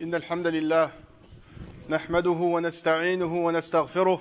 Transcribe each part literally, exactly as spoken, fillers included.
إن الحمد لله نحمده ونستعينه ونستغفره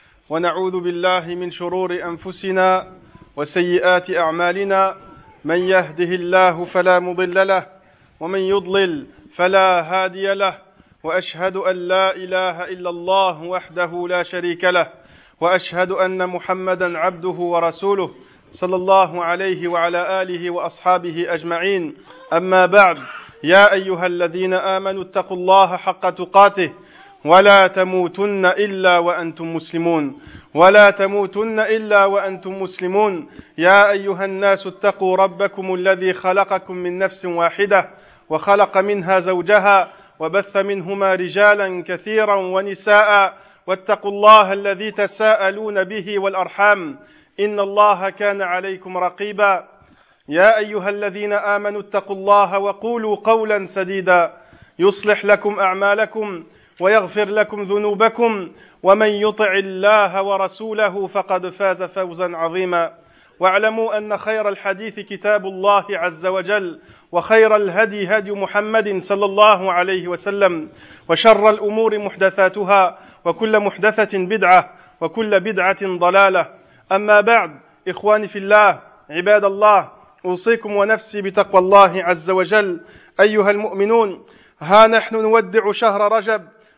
ونعوذ بالله من شرور أنفسنا وسيئات أعمالنا من يهده الله فلا مضل له ومن يضلل فلا هادي له وأشهد أن لا إله إلا الله وحده لا شريك له وأشهد أن محمدا عبده ورسوله صلى الله عليه وعلى آله وأصحابه أجمعين. أما بعد، يا أيها الذين آمنوا اتقوا الله حق تقاته ولا تموتن إلا وأنتم مسلمون ولا تموتن إلا وأنتم مسلمون يا أيها الناس اتقوا ربكم الذي خلقكم من نفس واحدة وخلق منها زوجها وبث منهما رجالا كثيرا ونساء واتقوا الله الذي تساءلون به والأرحام إن الله كان عليكم رقيبا. يا أيها الذين آمنوا اتقوا الله وقولوا قولا سديدا يصلح لكم أعمالكم ويغفر لكم ذنوبكم ومن يطع الله ورسوله فقد فاز فوزا عظيما. واعلموا أن خير الحديث كتاب الله عز وجل وخير الهدي هدي محمد صلى الله عليه وسلم وشر الأمور محدثاتها وكل محدثة بدعة وكل بدعة ضلالة. أما بعد، إخواني في الله عباد الله، أوصيكم ونفسي بتقوى الله عز وجل أيها المؤمنون. ها نحن نودع شهر رجب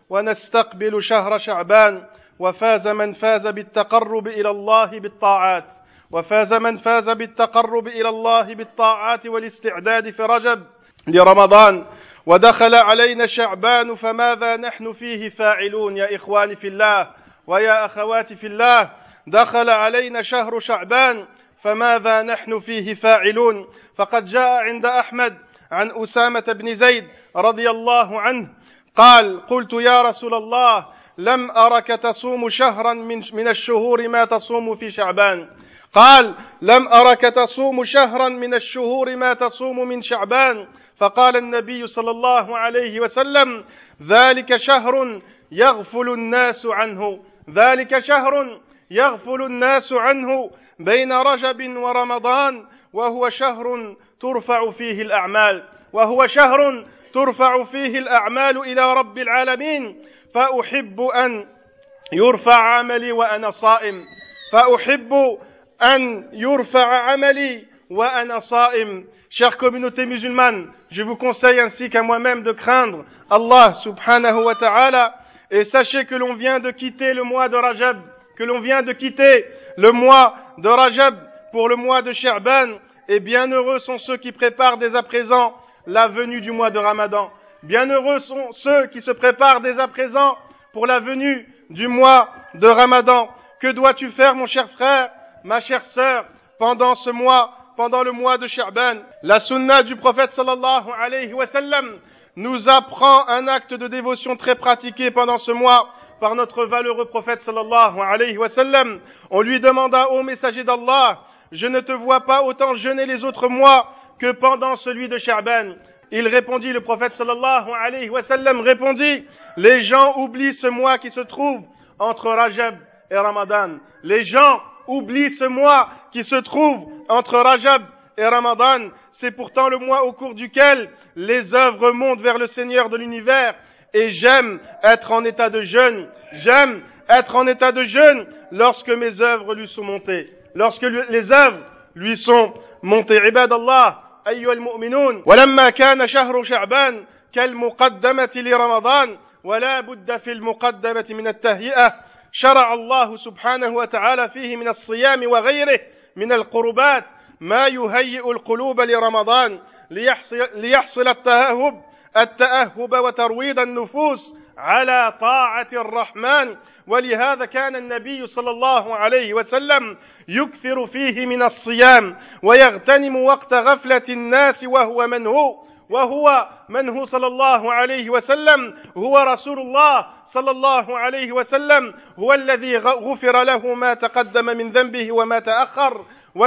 ونستقبل شهر شعبان، وفاز من فاز بالتقرب إلى الله بالطاعات وفاز من فاز بالتقرب إلى الله بالطاعات والاستعداد في رجب لرمضان، ودخل علينا شعبان فماذا نحن فيه فاعلون؟ يا إخواني في الله ويا أخواتي في الله، دخل علينا شهر شعبان فماذا نحن فيه فاعلون؟ فقد جاء عند أحمد عن أسامة بن زيد رضي الله عنه قال: قلت يا رسول الله لم أرك تصوم شهرا من, من الشهور ما تصوم في شعبان. قال: لم أرك تصوم شهرا من الشهور ما تصوم من شعبان. فقال النبي صلى الله عليه وسلم: ذلك شهر يغفل الناس عنه ذلك شهر يغفل الناس عنه بين رجب ورمضان، وهو شهر ترفع فيه الأعمال وهو شهر ترفع فيه الأعمال إلى رب العالمين. فأحب أن يرفع عملي وأنا صائم فأحب أن يرفع عملي وأنا صائم. Chère communauté musulmane, je vous conseille ainsi qu'à moi-même de craindre Allah subhanahu wa ta'ala, et sachez que l'on vient de quitter le mois de Rajab, que l'on vient de quitter le mois de Rajab pour le mois de Sha'ban, et bienheureux sont ceux qui préparent dès à présent la venue du mois de Ramadan. Bienheureux sont ceux qui se préparent dès à présent pour la venue du mois de Ramadan. Que dois-tu faire, mon cher frère, ma chère sœur, pendant ce mois, pendant le mois de Sha'ban? La sunna du prophète sallallahu alayhi wa sallam nous apprend un acte de dévotion très pratiqué pendant ce mois par notre valeureux prophète sallallahu alayhi wa sallam. On lui demanda: ô messager d'Allah, je ne te vois pas autant jeûner les autres mois que pendant celui de Sha'ban. Il répondit, le prophète sallallahu alayhi wa sallam répondit: les gens oublient ce mois qui se trouve entre Rajab et Ramadan. Les gens oublient ce mois qui se trouve entre Rajab et Ramadan. C'est pourtant le mois au cours duquel les œuvres montent vers le Seigneur de l'univers. Et j'aime être en état de jeûne. J'aime être en état de jeûne lorsque mes œuvres lui sont montées. Lorsque les œuvres lui sont montées. Ibadallah, أيها المؤمنون، ولما كان شهر شعبان كالمقدمة لرمضان ولا بد في المقدمة من التهيئة، شرع الله سبحانه وتعالى فيه من الصيام وغيره من القربات ما يهيئ القلوب لرمضان ليحصل, ليحصل التأهب التأهب وترويض النفوس على طاعة الرحمن. ولهذا كان النبي صلى الله عليه وسلم يكثر فيه من الصيام ويغتنم وقت غفلة الناس وهو من هو وهو من هو صلى الله عليه وسلم هو رسول الله صلى الله عليه وسلم، هو الذي غفر له ما تقدم من ذنبه وما تأخر.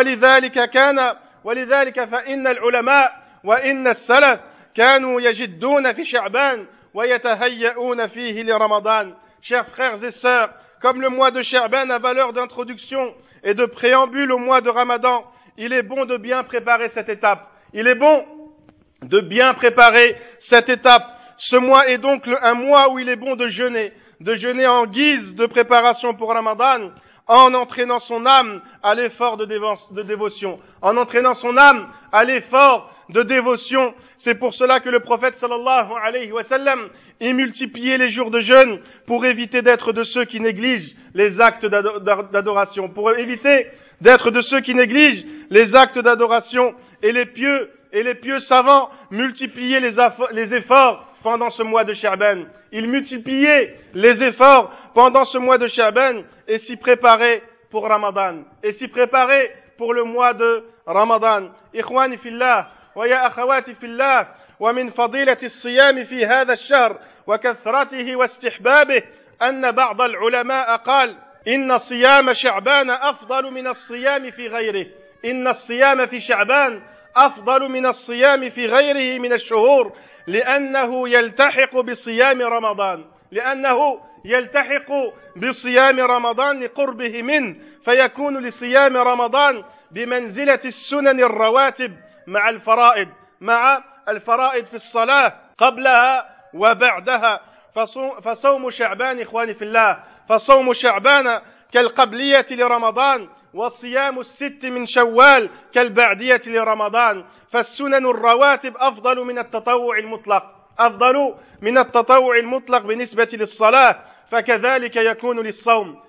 ولذلك كان ولذلك فإن العلماء وإن السلف كانوا يجدون في شعبان ويتهيئون فيه لرمضان. Chers frères et sœurs, comme le mois de Sha'ban a valeur d'introduction et de préambule au mois de Ramadan, il est bon de bien préparer cette étape. Il est bon de bien préparer cette étape. Ce mois est donc le, un mois où il est bon de jeûner, de jeûner en guise de préparation pour Ramadan, en entraînant son âme à l'effort de, dévo- de dévotion, en entraînant son âme à l'effort de dévotion. C'est pour cela que le prophète sallallahu alayhi wa sallam y multipliait les jours de jeûne pour éviter d'être de ceux qui négligent les actes d'adoration, pour éviter d'être de ceux qui négligent les actes d'adoration. Et les pieux et les pieux savants multipliaient les, affo- les efforts pendant ce mois de Sha'ban. Ils multipliaient les efforts pendant ce mois de Sha'ban et s'y préparaient pour Ramadan, et s'y préparaient pour le mois de Ramadan. Ikhwani fillah, wa ya akhawati fillah, wa min fadilati as-siyam fi hadha ash-shahr wa kathratihi wa istihbabih anna ba'd al-ulama qala inna siyam Sha'ban afdalu min as-siyam fi ghayrihi. Inna as-siyam fi Sha'ban afdalu min as-siyam fi ghayrihi min ash-shuhur لأنه يلتحق بصيام رمضان لأنه يلتحق بصيام رمضان لقربه منه فيكون لصيام رمضان بمنزلة السنن الرواتب مع الفرائض مع الفرائض في الصلاة قبلها وبعدها. فصوم شعبان إخواني في الله فصوم شعبان كالقبلية لرمضان وصيام الست من شوال كالبعدية لرمضان. فالسنن الرواتب أفضل من التطوع المطلق أفضل من التطوع المطلق بالنسبة للصلاة. فكذلك يكون للصوم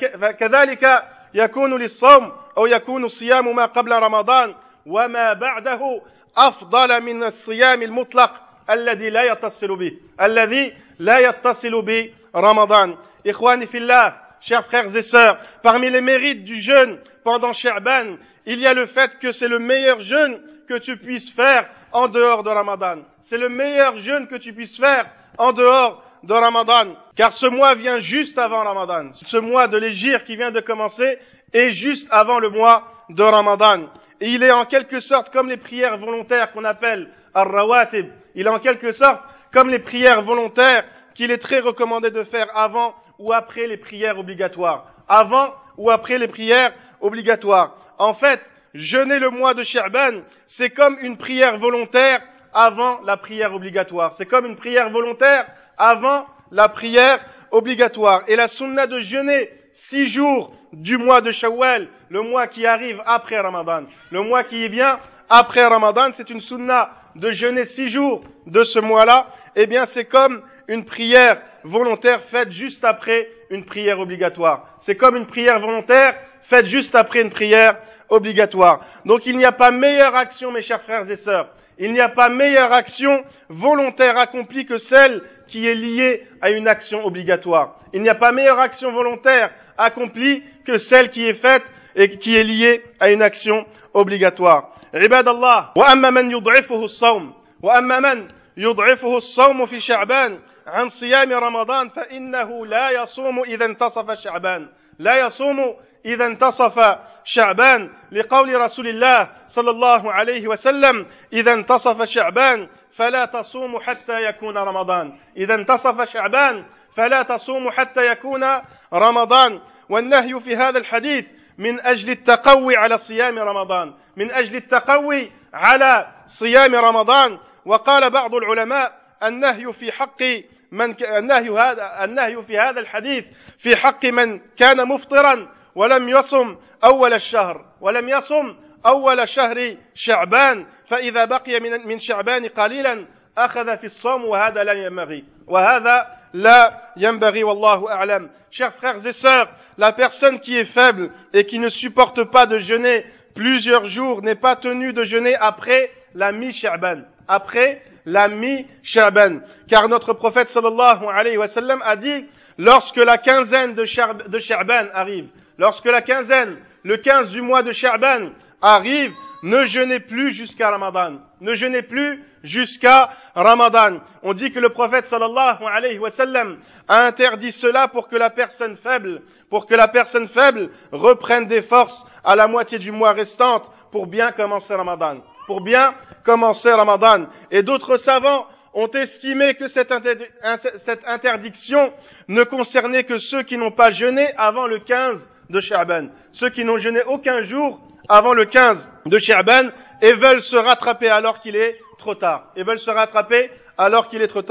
فكذلك يكون للصوم أو يكون صيام ما قبل رمضان وما بعده أفضل من الصيام المطلق الذي لا يتصل به الذي لا يتصل برمضان. إخواني في الله, chers frères et sœurs, parmi les mérites du jeûne pendant Sha'ban, il y a le fait que c'est le meilleur jeûne que tu puisses faire en dehors de Ramadan. C'est le meilleur jeûne que tu puisses faire en dehors de Ramadan, car ce mois vient juste avant Ramadan. Ce mois de l'hégire qui vient de commencer est juste avant le mois de Ramadan. Et il est en quelque sorte comme les prières volontaires qu'on appelle ar-rawatib. Il est en quelque sorte comme les prières volontaires qu'il est très recommandé de faire avant ou après les prières obligatoires. Avant ou après les prières obligatoires. En fait, jeûner le mois de Sha'ban, c'est comme une prière volontaire avant la prière obligatoire. C'est comme une prière volontaire avant la prière obligatoire. Et la sunna de jeûner six jours du mois de Shawwal, le mois qui arrive après Ramadan, le mois qui vient après Ramadan, c'est une sunna de jeûner six jours de ce mois-là. Eh bien, c'est comme une prière volontaire faite juste après une prière obligatoire. C'est comme une prière volontaire faite juste après une prière obligatoire. Donc il n'y a pas meilleure action, mes chers frères et sœurs, il n'y a pas meilleure action volontaire accomplie que celle qui est liée à une action obligatoire. Il n'y a pas meilleure action volontaire accomplie que celle qui est faite et qui est liée à une action obligatoire. Ibadallah, wa amma man yud'ifuhu as-sawm, wa amma man yud'ifuhu as-sawm fi Sha'ban عن صيام رمضان فإنه لا يصوم إذا انتصف شعبان لا يصوم إذا انتصف شعبان لقول رسول الله صلى الله عليه وسلم إذا انتصف شعبان فلا تصوم حتى يكون رمضان إذا انتصف شعبان فلا تصوم حتى يكون رمضان. والنهي في هذا الحديث من أجل التقوي على صيام رمضان من أجل التقوي على صيام رمضان. وقال بعض العلماء النهي في حق من النهي هذا النهي في هذا الحديث في حق من كان مفطرا ولم يصم أول الشهر ولم يصم أول شهر شعبان فإذا بقي من من شعبان قليلا أخذ في الصوم وهذا لا ينبغي وهذا لا ينبغي والله أعلم. Chers frères et sœurs, la personne qui est faible et qui ne supporte pas de jeûner plusieurs jours n'est pas tenue de jeûner après la mi-Sha'ban, après la mi-Sha'ban, car notre prophète sallallahu alayhi wa sallam a dit lorsque la quinzaine de Sha'ban arrive, lorsque la quinzaine, le quinze du mois de Sha'ban arrive, ne jeûnez plus jusqu'à Ramadan, ne jeûnez plus jusqu'à Ramadan. On dit que le prophète sallallahu alayhi wa sallam a interdit cela pour que la personne faible, pour que la personne faible reprenne des forces à la moitié du mois restante pour bien commencer Ramadan, pour bien commencer Ramadan. Et d'autres savants ont estimé que cette, inter- cette interdiction ne concernait que ceux qui n'ont pas jeûné avant le quinze de Sha'ban, ceux qui n'ont jeûné aucun jour avant le quinze de Sha'ban et veulent se rattraper alors qu'il est trop tard, et veulent se rattraper alors qu'il est trop tard.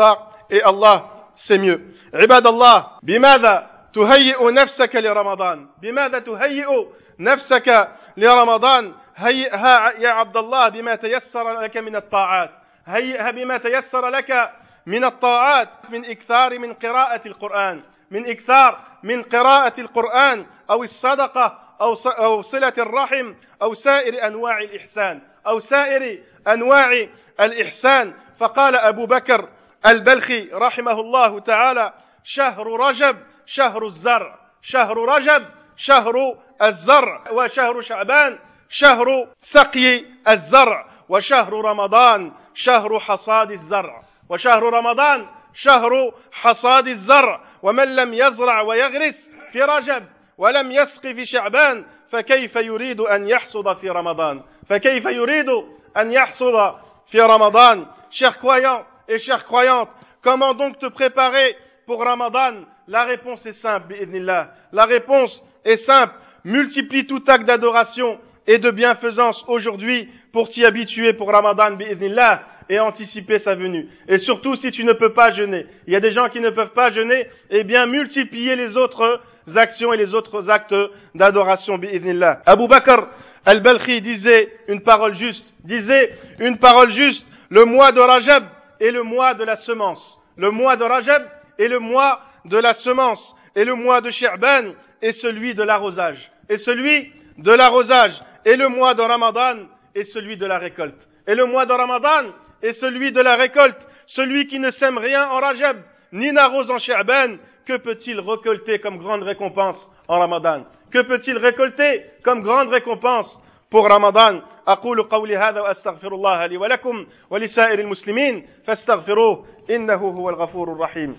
et Allah, c'est mieux. عباد الله بماذا تهيئ نفسك لرمضان؟ بماذا تهيئ نفسك لرمضان؟ هيئها يا عبد الله بما تيسر لك من الطاعات، هيئها بما تيسر لك من الطاعات، من إكثار من قراءة القرآن، من إكثار من قراءة القرآن أو الصدقة أو صلة الرحم أو سائر أنواع الإحسان أو سائر أنواع الإحسان. فقال أبو بكر البلخي رحمه الله تعالى: شهر رجب شهر الزرع، شهر رجب شهر الزرع، وشهر شعبان شهر سقي الزرع، وشهر رمضان شهر حصاد الزرع، وشهر رمضان شهر حصاد الزرع. ومن لم يزرع ويغرس في رجب ولم يسق في شعبان فكيف يريد أن يحصد في رمضان؟ فكيف يريد أن يحصد في رمضان؟ Chers croyants et chères croyantes, comment donc te préparer pour Ramadan? La réponse est simple, bi'idhnillah. La réponse est simple. Multiplie tout acte d'adoration et de bienfaisance aujourd'hui pour t'y habituer pour Ramadan, bi'idhnillah, et anticiper sa venue. Et surtout, si tu ne peux pas jeûner, il y a des gens qui ne peuvent pas jeûner, eh bien, multiplier les autres actions et les autres actes d'adoration, bi'idhnillah. Abu Bakr al-Balkhi disait une parole juste, disait une parole juste: le mois de Rajab est le mois de la semence. Le mois de Rajab est le mois de la semence. Et le mois de Sha'ban est celui de l'arrosage. Et celui de l'arrosage. Et le mois de Ramadan est celui de la récolte. Et le mois de Ramadan est celui de la récolte. Celui qui ne sème rien en Rajab, ni n'arrose en Sha'ban, que peut-il récolter comme grande récompense en Ramadan? Que peut-il récolter comme grande récompense pour Ramadan? أقول قولي هذا وأستغفر الله لي ولكم ولسائر المسلمين فاستغفروه إنه هو الغفور الرحيم.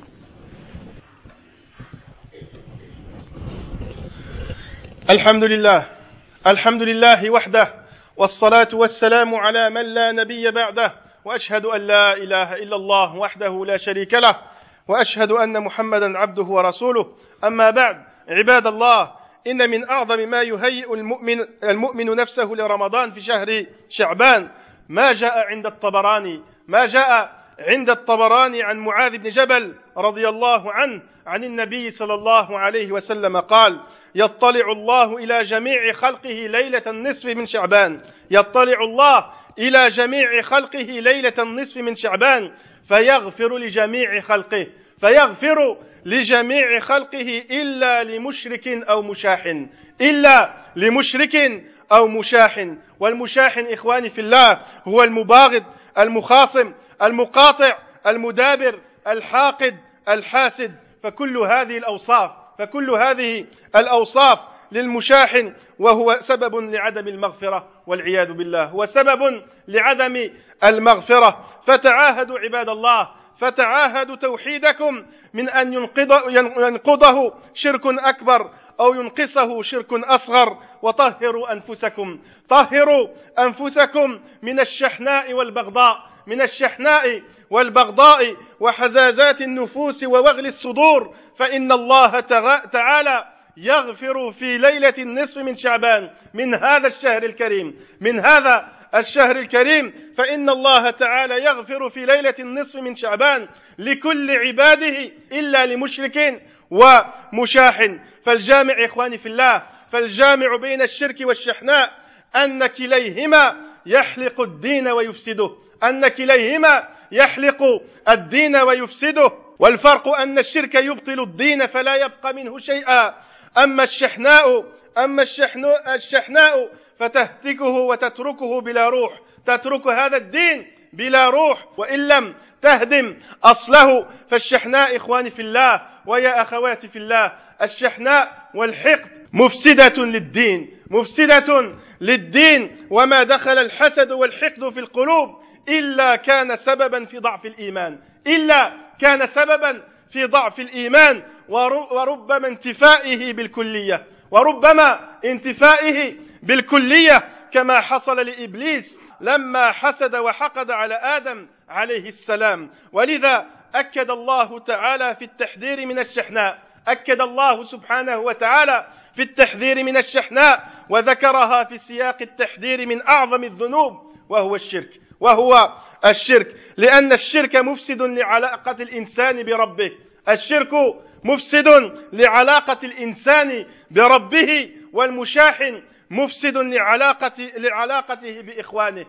الحمد لله الحمد لله وحده والصلاة والسلام على من لا نبي بعده وأشهد أن لا إله إلا الله وحده لا شريك له وأشهد أن محمدا عبده ورسوله. أما بعد، عباد الله، إن من أعظم ما يهيئ المؤمن, المؤمن نفسه لرمضان في شهر شعبان ما جاء عند الطبراني ما جاء عند الطبراني عن معاذ بن جبل رضي الله عنه عن النبي صلى الله عليه وسلم قال: يطلع الله إلى جميع خلقه ليلة النصف من شعبان يطلع الله إلى جميع خلقه ليلة النصف من شعبان فيغفر لجميع خلقه فيغفر لجميع خلقه إلا لمشرك أو مشاحن إلا لمشرك أو مشاحن. والمشاحن إخواني في الله هو المباغض المخاصم المقاطع المدابر الحاقد الحاسد. فكل هذه الأوصاف فكل هذه الأوصاف للمشاحن، وهو سبب لعدم المغفرة والعياذ بالله، هو سبب لعدم المغفرة. فتعاهدوا عباد الله، فتعاهدوا توحيدكم من أن ينقضه شرك أكبر أو ينقصه شرك أصغر. وطهروا أنفسكم طهروا أنفسكم من الشحناء والبغضاء من الشحناء والبغضاء وحزازات النفوس ووغل الصدور، فإن الله تعالى يغفر في ليلة النصف من شعبان من هذا الشهر الكريم من هذا الشهر الكريم فإن الله تعالى يغفر في ليلة النصف من شعبان لكل عباده إلا لمشرك ومشاحن. فالجامع إخواني في الله فالجامع بين الشرك والشحناء أن كليهما يحلق الدين ويفسده أن كليهما يحلق الدين ويفسده. والفرق أن الشرك يبطل الدين فلا يبقى منه شيئا، أما الشحناء أما الشحناء, الشحناء فتهتكه وتتركه بلا روح تترك هذا الدين بلا روح وإن لم تهدم أصله. فالشحناء إخواني في الله ويا أخواتي في الله، الشحناء والحقد مفسدة للدين مفسدة للدين وما دخل الحسد والحقد في القلوب إلا كان سببا في ضعف الإيمان إلا كان سببا في ضعف الإيمان وربما انتفائه بالكلية وربما انتفائه بالكلية كما حصل لإبليس لما حسد وحقد على آدم عليه السلام. ولذا أكد الله تعالى في التحذير من الشحناء أكد الله سبحانه وتعالى في التحذير من الشحناء وذكرها في سياق التحذير من أعظم الذنوب وهو الشرك وهو الشرك لأن الشرك مفسد لعلاقة الإنسان بربه الشرك مفسد لعلاقة الإنسان بربه والمشاحن مفسد لعلاقة لعلاقته بإخوانه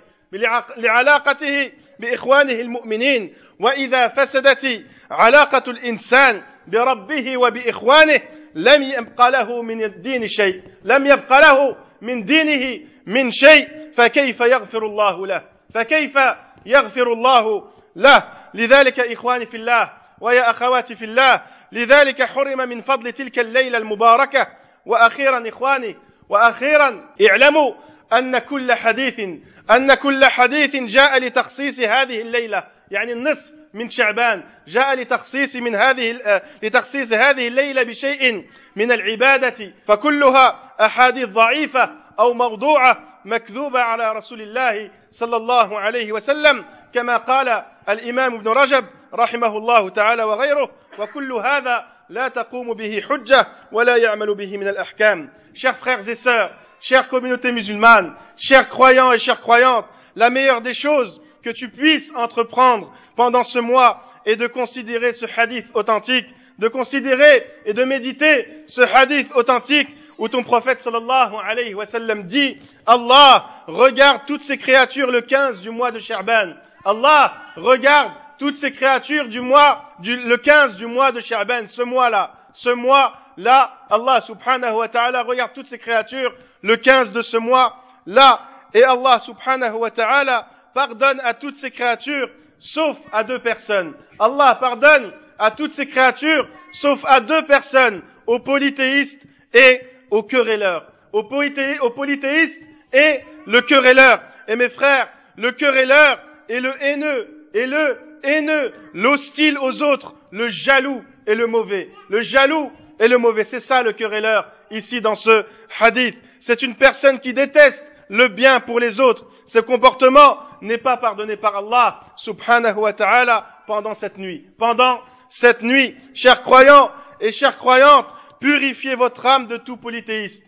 لعلاقته بإخوانه المؤمنين وإذا فسدت علاقة الإنسان بربه وبإخوانه لم يبقى له من الدين شيء لم يبقى له من دينه من شيء فكيف يغفر الله له فكيف يغفر الله له لذلك إخواني في الله ويا أخواتي في الله لذلك حرم من فضل تلك الليلة المباركة وأخيرا إخواني وأخيرا اعلموا أن كل حديث أن كل حديث جاء لتخصيص هذه الليلة يعني النصف من شعبان جاء لتخصيص من هذه لتخصيص هذه الليلة بشيء من العبادة فكلها أحاديث ضعيفة أو موضوعة مكذوبة على رسول الله صلى الله عليه وسلم كما قال الإمام ابن رجب رحمه الله تعالى وغيره وكل هذا لا تقوم به حجة ولا يعمل به من الأحكام. Chers frères et sœurs, chère communauté musulmane, chers croyants et chères croyantes, la meilleure des choses que tu puisses entreprendre pendant ce mois est de considérer ce hadith authentique, de considérer et de méditer ce hadith authentique où ton prophète sallallahu alayhi wa sallam dit Allah regarde toutes ces créatures le quinze du mois de Sha'ban. Allah regarde toutes ces créatures du mois du, le quinze du mois de Sha'ban, ce mois-là, ce mois-là, Allah subhanahu wa ta'ala regarde toutes ces créatures le quinze de ce mois-là et Allah subhanahu wa ta'ala pardonne à toutes ces créatures sauf à deux personnes. Allah pardonne à toutes ces créatures sauf à deux personnes, aux polythéistes et aux querelleurs. Aux, polythé, aux polythéistes et le querelleur. Et mes frères, le querelleur et le haineux, et le haineux, l'hostile aux autres, le jaloux et le mauvais. Le jaloux et le mauvais, c'est ça le querelleur ici dans ce hadith. C'est une personne qui déteste le bien pour les autres. Ce comportement n'est pas pardonné par Allah subhanahu wa ta'ala pendant cette nuit. Pendant cette nuit, chers croyants et chères croyantes, purifiez votre âme de tout polythéisme.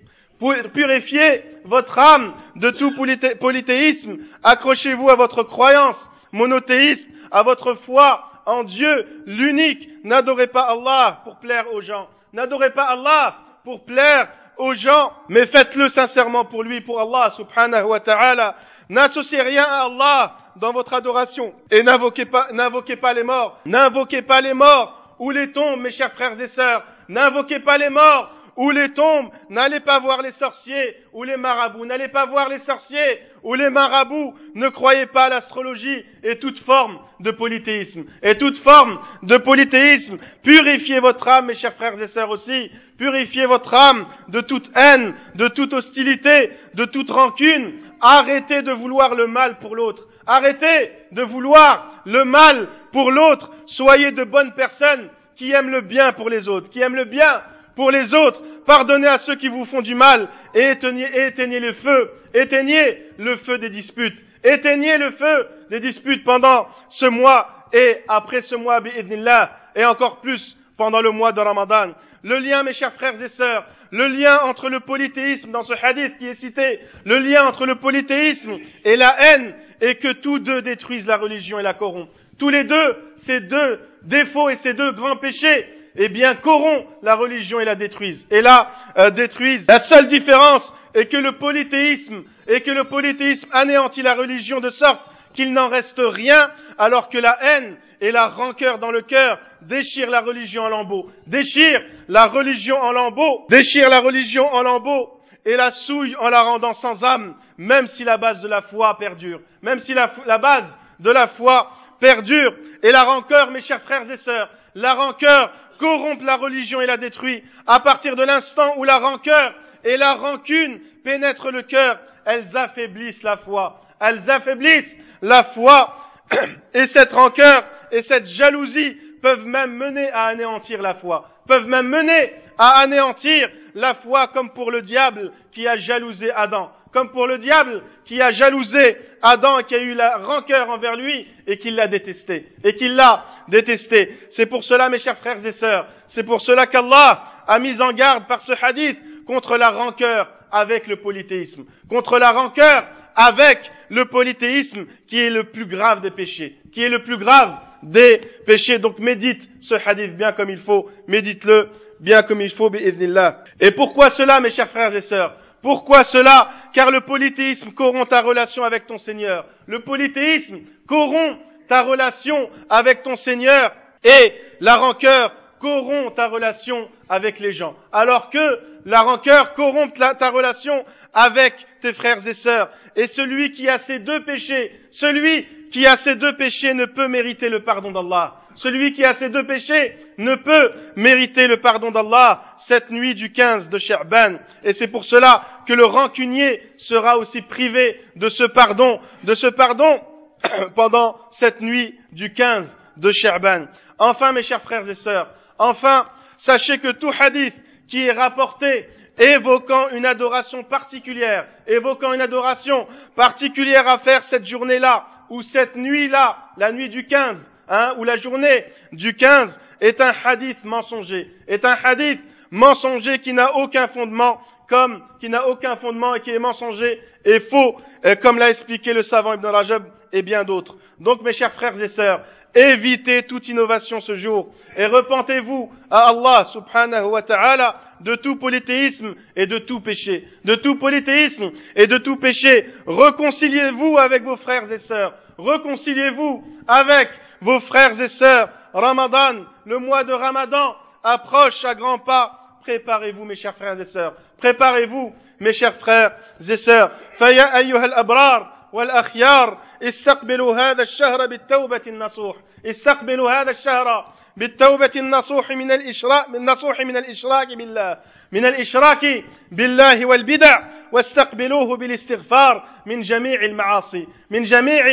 Purifiez votre âme de tout polythé- polythéisme. Accrochez-vous à votre croyance monothéiste, à votre foi en Dieu, l'unique. N'adorez pas Allah pour plaire aux gens. N'adorez pas Allah pour plaire aux gens, mais faites-le sincèrement pour lui, pour Allah subhanahu wa ta'ala. N'associez rien à Allah dans votre adoration et n'invoquez pas, n'invoquez pas les morts. N'invoquez pas les morts ou les tombes, mes chers frères et sœurs. N'invoquez pas les morts ou les tombes. N'allez pas voir les sorciers ou les marabouts. N'allez pas voir les sorciers ou les marabouts. Ne croyez pas à l'astrologie et toute forme de polythéisme. Et toute forme de polythéisme. Purifiez votre âme, mes chers frères et sœurs aussi. Purifiez votre âme de toute haine, de toute hostilité, de toute rancune. Arrêtez de vouloir le mal pour l'autre. Arrêtez de vouloir le mal pour l'autre. Soyez de bonnes personnes qui aiment le bien pour les autres, qui aiment le bien pour les autres. Pardonnez à ceux qui vous font du mal et éteignez, et éteignez le feu. Éteignez le feu des disputes. Éteignez le feu des disputes pendant ce mois et après ce mois, bi'idhnillah, et encore plus pendant le mois de Ramadan. Le lien, mes chers frères et sœurs, le lien entre le polythéisme dans ce hadith qui est cité, le lien entre le polythéisme et la haine est que tous deux détruisent la religion et la corrompent. Tous les deux, ces deux défauts et ces deux grands péchés, eh bien, corrompent la religion et la détruisent. Et la euh, détruisent. La seule différence est que le polythéisme, est que le polythéisme anéantit la religion de sorte qu'il n'en reste rien, alors que la haine et la rancœur dans le cœur déchirent la religion en lambeaux. Déchirent la religion en lambeaux. Déchirent la religion en lambeaux et la souillent en la rendant sans âme, même si la base de la foi perdure. Même si la, la base de la foi perdure. Et la rancœur, mes chers frères et sœurs, la rancœur corrompt la religion et la détruit. À partir de l'instant où la rancœur et la rancune pénètrent le cœur, elles affaiblissent la foi. Elles affaiblissent la foi. Et cette rancœur et cette jalousie peuvent même mener à anéantir la foi. Peuvent même mener à anéantir la foi, comme pour le diable qui a jalousé Adam. Comme pour le diable qui a jalousé Adam et qui a eu la rancœur envers lui et qui l'a détesté. Et qui l'a détesté. C'est pour cela, mes chers frères et sœurs, c'est pour cela qu'Allah a mis en garde par ce hadith contre la rancœur avec le polythéisme. Contre la rancœur avec le polythéisme qui est le plus grave des péchés, qui est le plus grave des péchés. Donc médite ce hadith bien comme il faut, médite-le bien comme il faut, bi'idhnillah. Et pourquoi cela, mes chers frères et sœurs? Pourquoi cela? Car le polythéisme corrompt ta relation avec ton Seigneur. Le polythéisme corrompt ta relation avec ton Seigneur, et la rancœur corrompt ta relation avec les gens. Alors que la rancœur corrompt la, ta relation avec tes frères et sœurs. Et celui qui a ces deux péchés, celui qui a ces deux péchés ne peut mériter le pardon d'Allah. Celui qui a ces deux péchés ne peut mériter le pardon d'Allah cette nuit du quinze de Sha'ban. Et c'est pour cela que le rancunier sera aussi privé de ce pardon, de ce pardon pendant cette nuit du quinze de Sha'ban. Enfin, mes chers frères et sœurs, enfin, sachez que tout hadith qui est rapporté évoquant une adoration particulière, évoquant une adoration particulière à faire cette journée-là, ou cette nuit-là, la nuit du quinze, hein, ou la journée du quinze, est un hadith mensonger, est un hadith mensonger qui n'a aucun fondement, comme, qui n'a aucun fondement et qui est mensonger et faux, euh, comme l'a expliqué le savant Ibn Rajab et bien d'autres. Donc, mes chers frères et sœurs, évitez toute innovation ce jour et repentez-vous à Allah subhanahu wa ta'ala de tout polythéisme et de tout péché, de tout polythéisme et de tout péché. Réconciliez-vous avec vos frères et sœurs, réconciliez-vous avec vos frères et sœurs. Ramadan, le mois de Ramadan approche à grands pas. Préparez-vous, mes chers frères et sœurs, préparez-vous, mes chers frères et sœurs. فيا أيها الأبرار والأخيار استقبلوا هذا الشهر بالتوبة النصوح، استقبلوا هذا الشهر بالتوبة النصوح من الإشراك من النصوح من الإشراك بالله من الإشراك بالله والبدع، واستقبلوه بالاستغفار من جميع المعاصي من جميع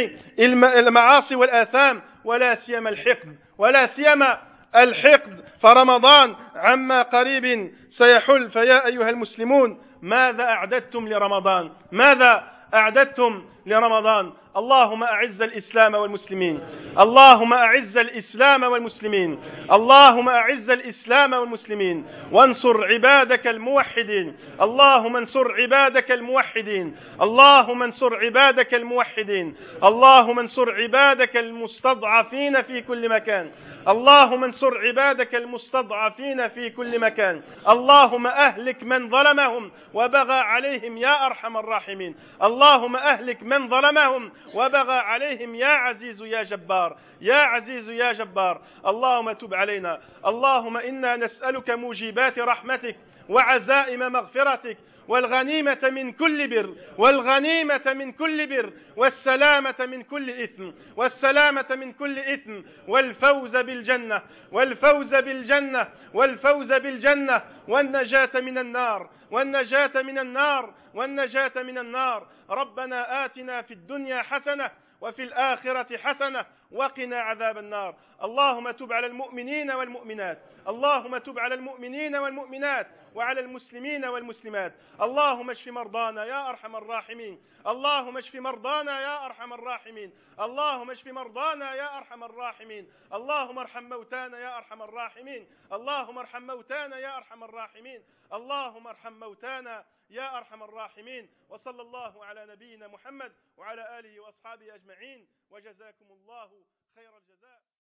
المعاصي والآثام، ولا سيما الحقد ولا سيما الحقد، فرمضان عما قريب سيحل. فيا أيها المسلمون، ماذا أعددتم لرمضان؟ ماذا أعددتم لرمضان؟ اللهم أعز الإسلام والمسلمين، اللهم أعز الإسلام والمسلمين، اللهم أعز الإسلام والمسلمين، وانصر عبادك الموحدين، اللهم انصر عبادك الموحدين، اللهم انصر عبادك الموحدين، اللهم انصر عبادك المستضعفين في كل مكان، اللهم انصر عبادك المستضعفين في كل مكان، اللهم أهلك من ظلمهم وبغى عليهم يا أرحم الراحمين، اللهم أهلك من ظلمهم وبغى عليهم يا عزيز يا جبار، يا عزيز يا جبار. اللهم تب علينا، اللهم إنا نسألك موجبات رحمتك وعزائم مغفرتك والغنيمة من كل بر، والغنيمة من كل بر، والسلامة من كل إثم، والسلامة من كل إثم، والفوز بالجنة، والفوز بالجنة، والفوز بالجنة، والنجاة من النار، والنجاة من النار، والنجاة من النار. ربنا آتنا في الدنيا حسنة وفي الآخرة حسنة وقنا عذاب النار. اللهم تب على المؤمنين والمؤمنات، اللهم تب على المؤمنين والمؤمنات وعلى المسلمين والمسلمات. اللهم اشف مرضانا يا أرحم الراحمين، اللهم اشف مرضانا يا أرحم الراحمين، اللهم اشف مرضانا يا أرحم الراحمين، اللهم ارحم موتانا يا أرحم الراحمين، اللهم ارحم موتانا يا أرحم الراحمين، اللهم ارحم موتانا يا أرحم الراحمين. وصلى الله على نبينا محمد وعلى آله وأصحابه أجمعين، وجزاكم الله خير الجزاء.